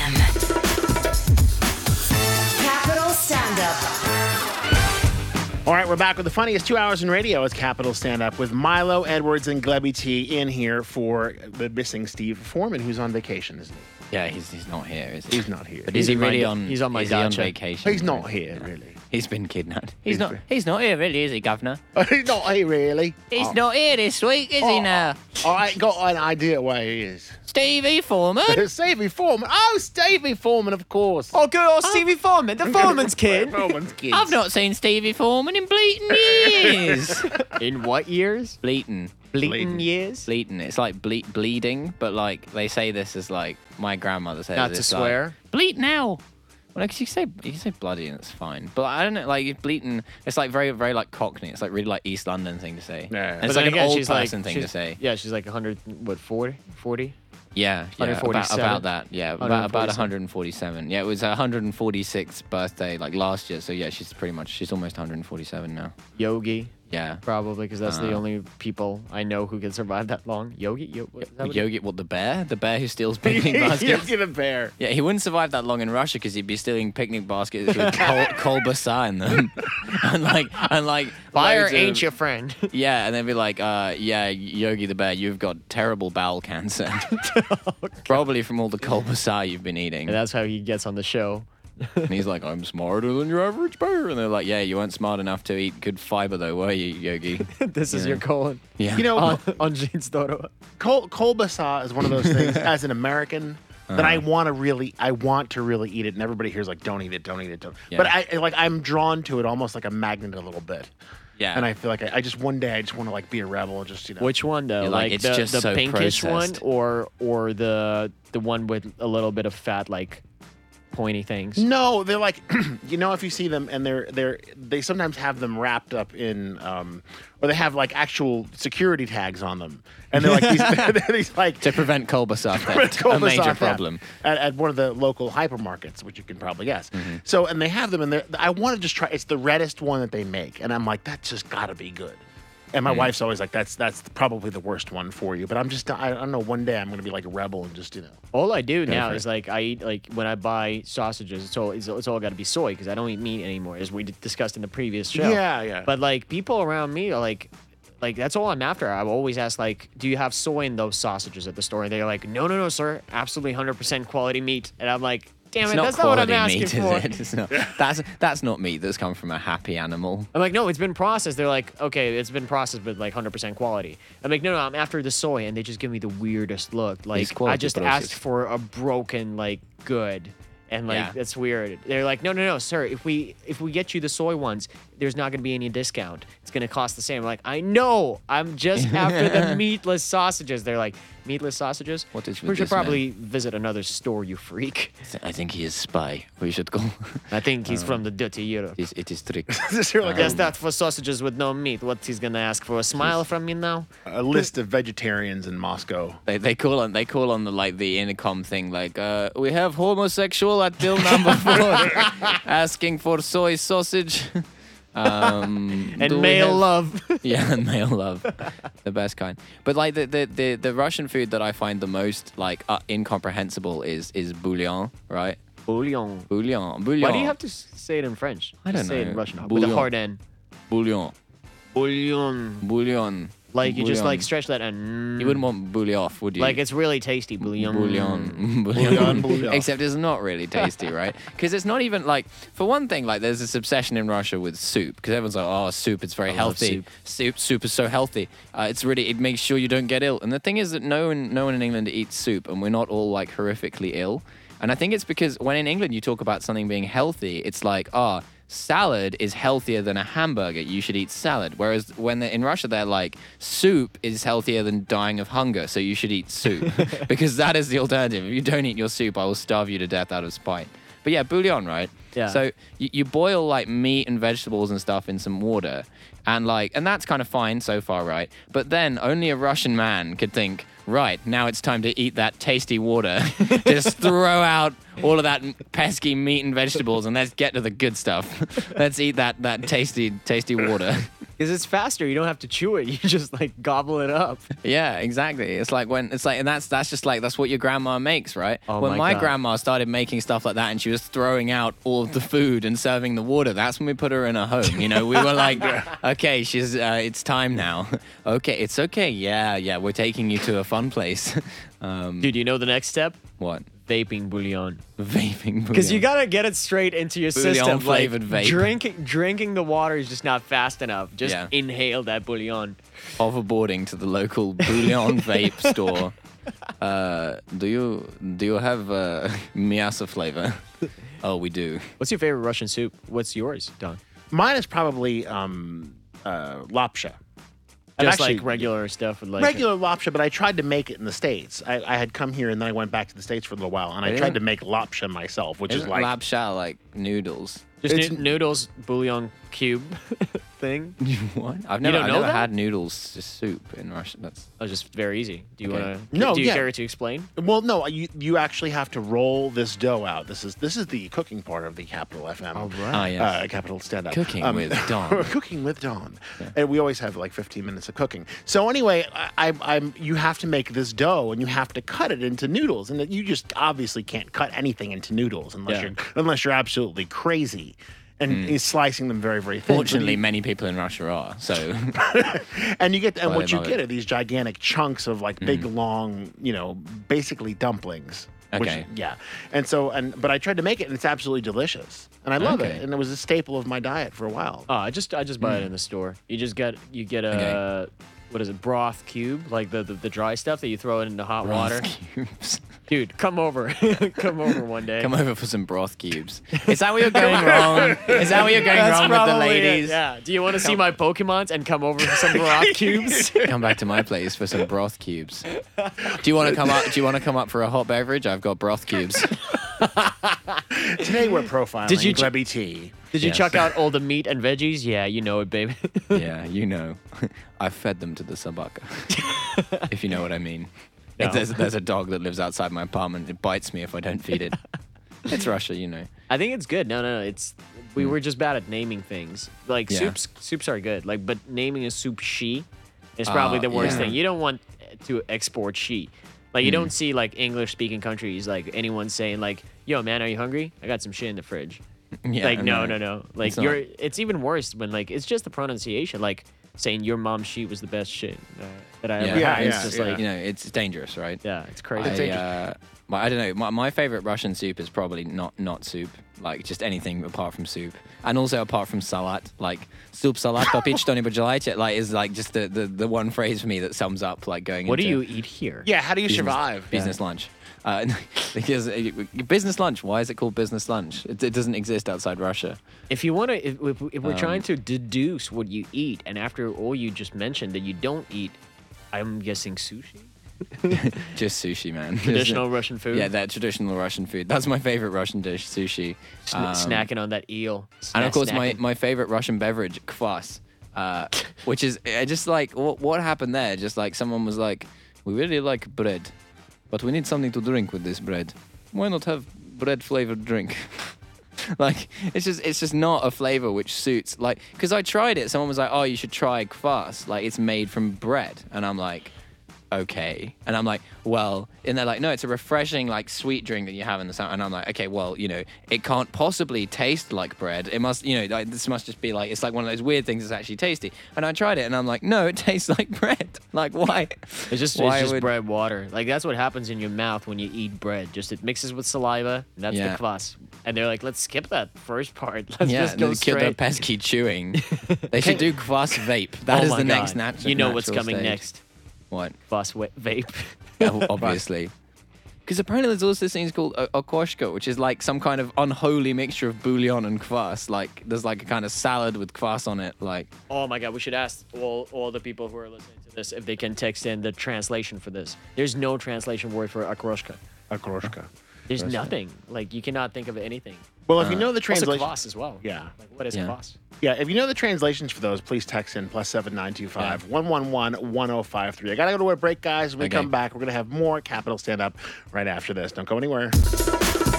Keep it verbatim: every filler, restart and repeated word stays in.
M. Capital Stand Up. All right, we're back with the funniest two hours in radio. It's Capital Stand Up with Milo, Edwards, and Glebby T in here for the missing Steve Foreman, who's on vacation, isn't he? Yeah, he's he's not here, is he? He's not here. But is he He's in really my- on? he's on my is he on dacha. vacation? He's not here, really. He's been kidnapped. He's, He's not. been- He's not here, really, is he, Governor? He's not here, really. He's Oh. not here this week, is he? Oh, Now, I ain't got an idea where he is. Stevie Foreman. Stevie Foreman. Oh, Stevie Foreman, of course. Oh, good old Stevie Foreman, the Foreman's kid. Foreman's kid. I've not seen Stevie Foreman in bleating years. In what years? bleating, Bleating Bleating. years? bleating. It's like ble- bleeding, but like they say this as like my grandmother says. Not to it's like, swear. bleat now. Well, like, you say you can say bloody and it's fine, but I don't know. Like bleating, it's like very very like Cockney. It's like really like East London thing to say. Yeah. And But it's then like again, an old she's like- person thing to she's- say. Yeah, she's like one hundred, what, forty? forty? Yeah, yeah, about, 147? about that. Yeah, about, about one hundred forty-seven. Yeah, it was her one hundred forty-sixth birthday like last year. So yeah, she's pretty much she's almost one hundred forty-seven now. Yogi, Yeah. probably, because that's the Uh. only people I know who can survive that long. Yogi? Yo- what- is that what it- Yogi, what the bear? The bear who steals picnic baskets. Yogi the bear. Yeah, he wouldn't survive that long in Russia because he'd be stealing picnic baskets with kol- kolbasa in them, and like and like Fire loads of- ain't your friend. Yeah, and they'd be like, uh, yeah, Yogi the bear, you've got terrible bowel cancer, probably from all the kolbasa you've been eating. And that's how he gets on the show. And he's like, I'm smarter than your average bear. And they're like, yeah, you weren't smart enough to eat good fiber, though, were you, Yogi? This is Yeah. your colon. Yeah. You know, On, on Jeans Toro. Kol- kolbasa is one of those things, as an American, that I want to really, I want to really eat it. And everybody here's like, don't eat it, don't eat it, don't. Yeah. But I, like, I'm drawn to it almost like a magnet a little bit. yeah. And I feel like I, I just, one day, I just want to like be a rebel and just, you know. Which one though? You're like, like it's the, just the so pinkish processed. one, or or the the one with a little bit of fat, like pointy things. No, they're like, you know, if you see them and they're they're they sometimes have them wrapped up in, um, or they have like actual security tags on them, and they're like these, they're these like to prevent kolbasa theft, a kolbasa major theft problem. at, at one of the local hypermarkets, which you can probably guess. Mm-hmm. So, and they have them, and they're- I want to just try. It's the reddest one that they make, and I'm like, that's just got to be good. And my Mm. wife's always like, that's that's probably the worst one for you. But I'm just, I, I don't know. One day I'm gonna be like a rebel and just, you know. All I do now for is it. like I eat like when I buy sausages, it's all it's, it's all got to be soy because I don't eat meat anymore, as we d- discussed in the previous show. Yeah, yeah. But like people around me are like, like that's all I'm after. I always ask like, do you have soy in those sausages at the store? And they're like, no, no, no, sir, absolutely one hundred percent quality meat. And I'm like, damn It's it, not that's not what I'm quality asking meat, for. is it? It's not, that's that's not meat that's come from a happy animal. I'm like, no, it's been processed. They're like, okay, it's been processed with like one hundred percent quality. I'm like, no, no, I'm after the soy, and they just give me the weirdest look. Like, I quality just processed. asked for a broken, like, good, and like Yeah. that's weird. They're like, no, no, no, sir, if we if we get you the soy ones, there's not gonna be any discount. It's gonna cost the same. I'm like, I know, I'm just after the meatless sausages. They're like, meatless sausages? What is We with should this man? probably visit another store, you freak. I think he is spy. We should go. I think he's from the dirty Europe. it, is, it is trick. You're like Guess a, that for sausages with no meat. What he's gonna ask for? A smile from me now? a list of vegetarians in Moscow. They, they call on they call on the like the intercom thing like uh, we have homosexual at bill number four asking for soy sausage. Um, do And we male have- love. Yeah, and male love, the best kind. But like the, the, the, the Russian food that I find the most like uh, incomprehensible is is bouillon, right? Bouillon. Bouillon, bouillon. Why do you have to s- say it in French? I Just don't say it know. in Russian with Bouillon. a hard N. bouillon? Bouillon. Bouillon. Like you just Bouillon. like stretch that and You wouldn't want bouillon, would you? like it's really tasty. Bouillon. Bouillon. Bouillon, bouillon. Except it's not really tasty, right? Because it's not even like, for one thing, like there's this obsession in Russia with soup. Because everyone's like, oh, soup, it's very I love healthy. soup. soup. Soup is so healthy. Uh, it's really, it makes sure you don't get ill. And the thing is that no one, no one in England eats soup, and we're not all like horrifically ill. And I think it's because when in England you talk about something being healthy, it's like, ah, salad is healthier than a hamburger. You should eat salad. Whereas when they're in Russia, they're like, soup is healthier than dying of hunger, so you should eat soup. Because that is the alternative. If you don't eat your soup, I will starve you to death out of spite. But yeah, bouillon, right? Yeah. So you, you boil like meat and vegetables and stuff in some water. And like, and that's kind of fine so far, right? But then only a Russian man could think, right, now it's time to eat that tasty water. Just throw out all of that pesky meat and vegetables and let's get to the good stuff. Let's eat that that tasty, tasty water. Because it's faster. You don't have to chew it. You just like gobble it up. Yeah, exactly. It's like when it's like, and that's that's just like that's what your grandma makes, right? Oh when my my God. grandma started making stuff like that, and she was throwing out all of the food and serving the water, that's when we put her in a home. You know, we were like, okay, she's uh, it's time now. Okay, it's okay. Yeah, yeah, we're taking you to a fun place. Um, Dude, you know the next step? what? Vaping bouillon. Vaping. Because you bouillon. gotta get it straight into your Bouillon system. Like flavored vape. drinking, drinking the water is just not fast enough. Just Yeah. inhale that bouillon. Hoverboarding to the local bouillon vape store. Uh, do you do you have uh, miasa flavor? Oh, we do. What's your favorite Russian soup? What's yours, Don? Mine is probably um, uh, lapsha. I've Just actually- like regular stuff with like regular lapsha, but I tried to make it in the States. I, I had come here and then I went back to the States for a little while, and I Really? tried to make lapsha myself, which is Isn't like lapsha like noodles? just it's- noo- noodles bouillon cube thing. What? I've never, don't I've know never that? had noodles just soup in Russia. That's Oh, just very easy. Do you Okay. want to? No, Do you yeah. care to explain? well, no, you you actually have to roll this dough out. This is this is the cooking part of the Capital F M. ah yes. Uh, Capital Stand Up. Cooking with Dawn. cooking with Dawn. And we always have like fifteen minutes of cooking. So anyway, I, I, I'm you have to make this dough and you have to cut it into noodles, and you just obviously can't cut anything into noodles unless Yeah. you're unless you're absolutely crazy. And he's slicing them very, very thin. So Fortunately, you- many people in Russia are. So and you get and Well, what I you love get it. are these gigantic chunks of like big, long, you know, basically dumplings. which- Okay. yeah. And so and but I tried to make it and it's absolutely delicious. And I love Okay. it. And it was a staple of my diet for a while. Oh, I just I just buy it in the store. You just get you get a Okay. what is it broth cube like the, the the dry stuff that you throw it into hot water. cubes. Dude, come over, come over one day. Come over for some broth cubes. Is that where you're going wrong? Is that where you're going That's wrong with the probably it, ladies? Yeah. Do you want to see my Pokemons and come over for some broth cubes? Come back to my place for some broth cubes. Do you want to come up? Do you want to come up for a hot beverage? I've got broth cubes. Today we're profiling Did you ch- Glebby tea. Did you Yes. chuck out all the meat and veggies? Yeah, you know it, baby. Yeah, you know. I fed them to the sabaka. If you know what I mean. No. It's- There's, there's a dog that lives outside my apartment. It bites me if I don't feed it. It's Russia, you know. I think it's good. No, no, no. It's we were just bad at naming things. Like Hmm. Yeah. soups, soups are good. Like, but naming a soup shi is probably Uh, the worst yeah. thing. You don't want to export shi. Like, Hmm. you don't see like English-speaking countries like anyone saying like, "Yo, man, are you hungry? I got some shit in the fridge." Yeah, like, no, no, no. Like, It's not. you're. It's even worse when like it's just the pronunciation. Like saying your mom's sheet was the best shit uh, that I ever Yeah, had. yeah, It's just yeah. like, You know, it's dangerous, right? yeah, it's crazy. I, uh, but I don't know. My, my favorite Russian soup is probably not not soup. Like just anything apart from soup, and also apart from salat. Like soup, salat, попить что-нибудь желаете? Like is like just the, the the one phrase for me that sums up like going. What do into you eat here? Yeah, how do you business, survive? business lunch? Uh, because uh, business lunch. Why is it called business lunch? It, it doesn't exist outside Russia. If you want to, if, if, if we're Um, trying to deduce what you eat, and after all you just mentioned that you don't eat, I'm guessing sushi, Just sushi, man. traditional Russian food. Yeah, that traditional Russian food. That's my favorite Russian dish, sushi. Sn- Um, snacking on that eel. And of Snack- course, my, snacking. my favorite Russian beverage, kvass, uh, which is uh, just like what, what happened there. Just like someone was like, we really like bread, but we need something to drink with this bread. Why not have bread flavored drink? Like it's just it's just not a flavor which suits. Like because I tried it, someone was like, oh, you should try kvass. Like it's made from bread, and I'm like, okay. And I'm like, well, and they're like, no, it's a refreshing, like, sweet drink that you have in the summer. And I'm like, okay, well, you know, it can't possibly taste like bread. It must, you know, like, this must just be like, it's like one of those weird things that's actually tasty. And I tried it, and I'm like, no, it tastes like bread. Like, why? It's just, why it's just would- bread water. Like that's what happens in your mouth when you eat bread. Just it mixes with saliva. And that's Yeah. the kvass. And they're like, let's skip that first part. Let's Yeah, just go the, kid- the straight. pesky chewing. They should do kvass vape. That Oh is my the God. next natural. You know what's natural coming stage. next? What? Kvass wa- vape. Yeah, obviously. Because apparently there's also this thing called a okoshka, which is like some kind of unholy mixture of bouillon and kvass. Like there's like a kind of salad with kvass on it. Like Oh my God, we should ask all, all the people who are listening to this if they can text in the translation for this. There's no translation word for akroshka. Akroshka. There's nothing. Like you cannot think of anything. Well, if you know the Also translation, kvass as well. Yeah. Like what is Yeah. kvass? yeah, if you know the translations for those, please text in plus seven nine two five one one one one zero five three. I gotta go to a break, guys. When we Okay. come back, we're gonna have more Capital Stand Up right after this. Don't go anywhere.